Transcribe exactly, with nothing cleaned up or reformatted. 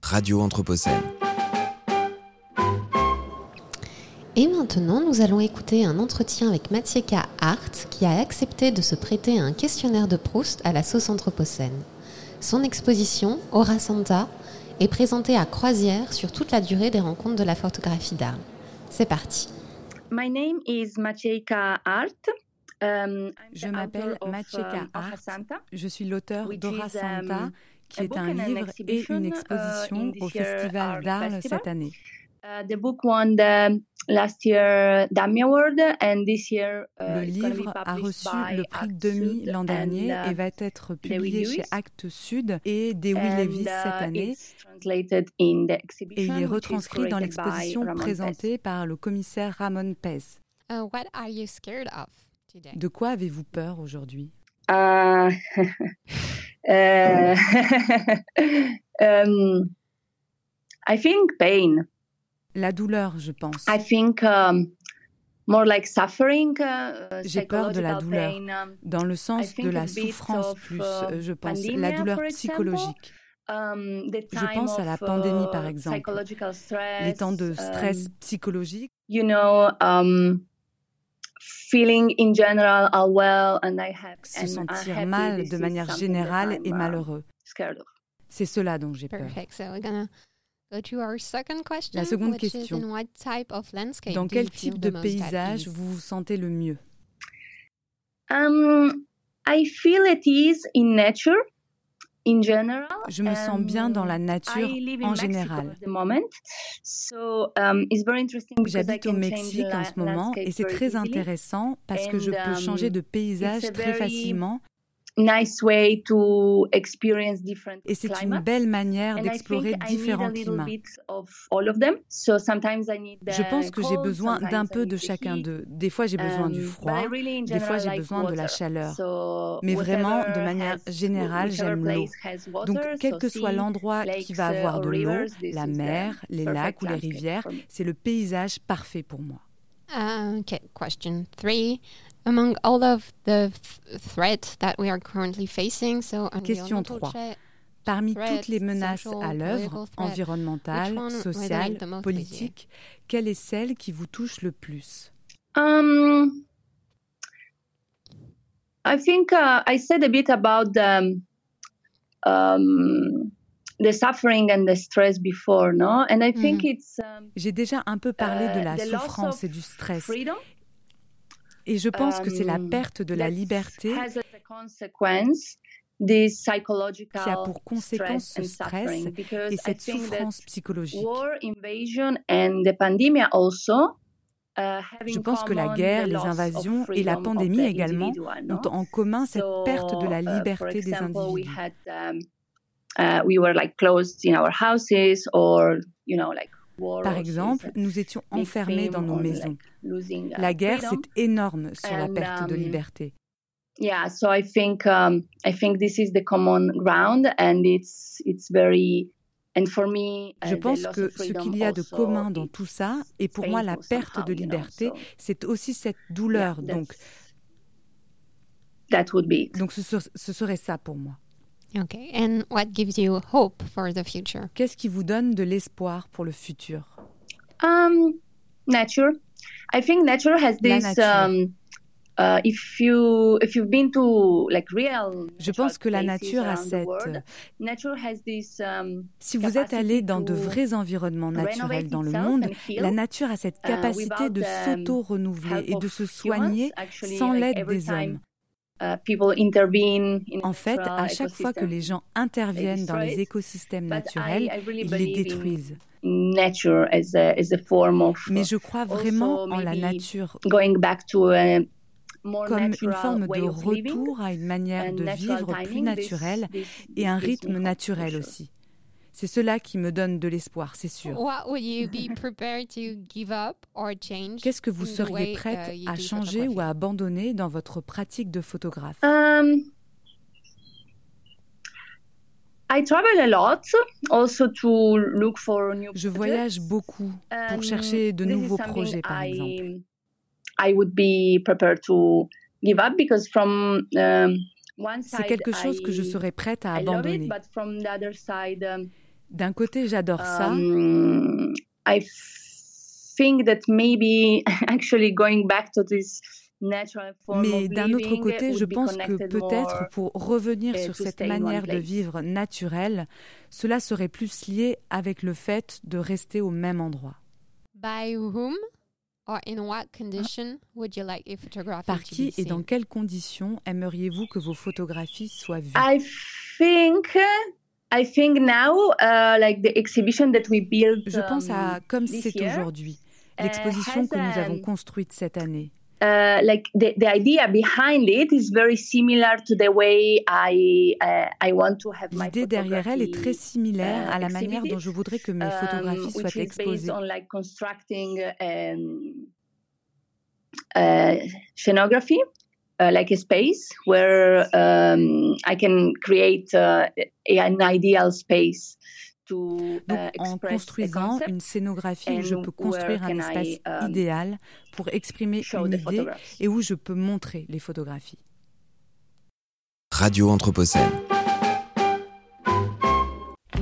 Radio Anthropocène. Et maintenant, nous allons écouter un entretien avec Maciejka Hart, qui a accepté de se prêter à un questionnaire de Proust à la sauce anthropocène. Son exposition, Aura Santa, est présentée à Croisière sur toute la durée des rencontres de la photographie d'Arles. C'est parti. My name is Maciejka Hart. Um, Je m'appelle Maciejka Hart. Je suis l'auteur d'Aura Santa, qui est un livre et une exposition au Festival d'Arles cette année. Uh, the book won the last year Dami Award and this year uh, Le livre a reçu le prix Demi l'an dernier and, uh, et va être publié chez Actes Sud et Dewey Lewis uh, cette année. In et il est retranscrit dans l'exposition présentée par le commissaire Ramon Pez. Uh, what are you scared of today? De quoi avez-vous peur aujourd'hui? Uh, uh, um, I think pain. La douleur, je pense. I think um, more like suffering. Uh, J'ai peur de la douleur, pain, um, dans le sens de la souffrance of, plus, uh, je pense, pandemia, la douleur psychologique. Um, je pense à la pandémie, par exemple, stress, les temps de stress um, psychologique. You know, um, feeling in general unwell and I have se sentir mal de manière générale et malheureux. C'est cela dont j'ai peur. Perfect. So we're gonna go to our second question, La seconde which question. Is in what type of landscape Dans do you quel feel type de the most paysage at ease? vous vous sentez le mieux? Um, I feel at ease in nature. In general, je me sens bien dans la nature en général. So, um, J'habite au Mexique en ce moment et c'est très intéressant parce que je peux changer de paysage très facilement. Nice way to experience different et c'est climates. Une belle manière d'explorer différents climats. So the... Je pense que j'ai besoin d'un peu de chacun d'eux. Des fois, j'ai besoin um, du froid, really des fois, j'ai like besoin water. De la chaleur. So Mais vraiment, de manière générale, j'aime l'eau. Donc, quel so que soit l'endroit qui va avoir de l'eau, la mer, les lacs ou les rivières, c'est le paysage parfait pour moi. Uh, okay, question three. Among all of the th- threats that we are currently facing, so Question trois. Parmi threats, toutes les menaces social, à l'œuvre, environnementales, sociales, politiques, quelle est celle qui vous touche le plus? Um, I think uh, I said a bit about the, um, the suffering and the stress before, no? And I think mm. it's... Um, J'ai déjà un peu parlé de la uh, souffrance et du stress. Freedom. Et je pense que c'est la perte de la liberté qui a pour conséquence ce stress et cette souffrance psychologique. Je pense que la guerre, les invasions et la pandémie également ont en commun cette perte de la liberté des individus. Par exemple, nous étions enfermés dans nos maisons. La guerre, c'est énorme sur la perte de liberté. Yeah, so I think um, I think this is the common ground, and it's it's very and for me. Je pense que ce qu'il y a de commun dans tout ça, et pour moi la perte de liberté, c'est aussi cette douleur. Donc, that would be. Donc ce, ce serait ça pour moi. Okay, and what gives you hope for the future? Qu'est-ce qui vous donne de l'espoir pour le futur? Um, nature. I think nature has this. Um, uh, if you if you've been to like real. Je pense que la nature a cette. World, nature has this, um, si vous êtes allé dans de vrais environnements naturels dans le monde, la nature a cette capacité uh, de s'auto-renouveler et de se soigner actually, sans l'aide like des hommes. Uh, people intervene in en fait, à chaque fois que les gens interviennent dans les écosystèmes naturels, I, I really ils les détruisent. Nature as a, as a form of, Mais je crois vraiment en la nature going back to a comme une forme de retour à une manière de vivre plus naturelle et un rythme naturel aussi. C'est cela qui me donne de l'espoir, c'est sûr. Qu'est-ce que vous seriez prête uh, à changer ou à abandonner dans votre pratique de photographe? um, I travel a lot, also to look for new Je voyage beaucoup pour chercher de nouveaux projets, par I, exemple. I would be prepared to give up because from um, one side, c'est quelque chose I, que je serais prête à abandonner. I love it, but from the other side, um, D'un côté, j'adore ça. Um, I think that maybe actually going back to this natural form Mais of d'un autre living côté, je would be pense que connected peut-être more, pour revenir uh, sur to cette stay in one manière de place. vivre naturelle, cela serait plus lié avec le fait de rester au même endroit. By whom or in what condition would you like your photography Par to qui be et dans seen? quelles conditions aimeriez-vous que vos photographies soient vues? I think I think now uh, like the exhibition that we built Je pense à um, Comme this c'est year, aujourd'hui, uh, l'exposition has que nous avons um, construite cette année. Uh, like the, the idea behind it is very similar to the way I uh, I want to have my L'idée derrière elle est très photography similaire uh, à la manière dont exhibited, je voudrais que mes um, photographies soient which is based exposées. on like constructing um, uh, scenography, uh, like a space where um, I can create uh, an ideal space. To, Donc, uh, en construisant une scénographie où je peux construire un espace I, um, idéal pour exprimer une idée et où je peux montrer les photographies. Radio Anthropocène.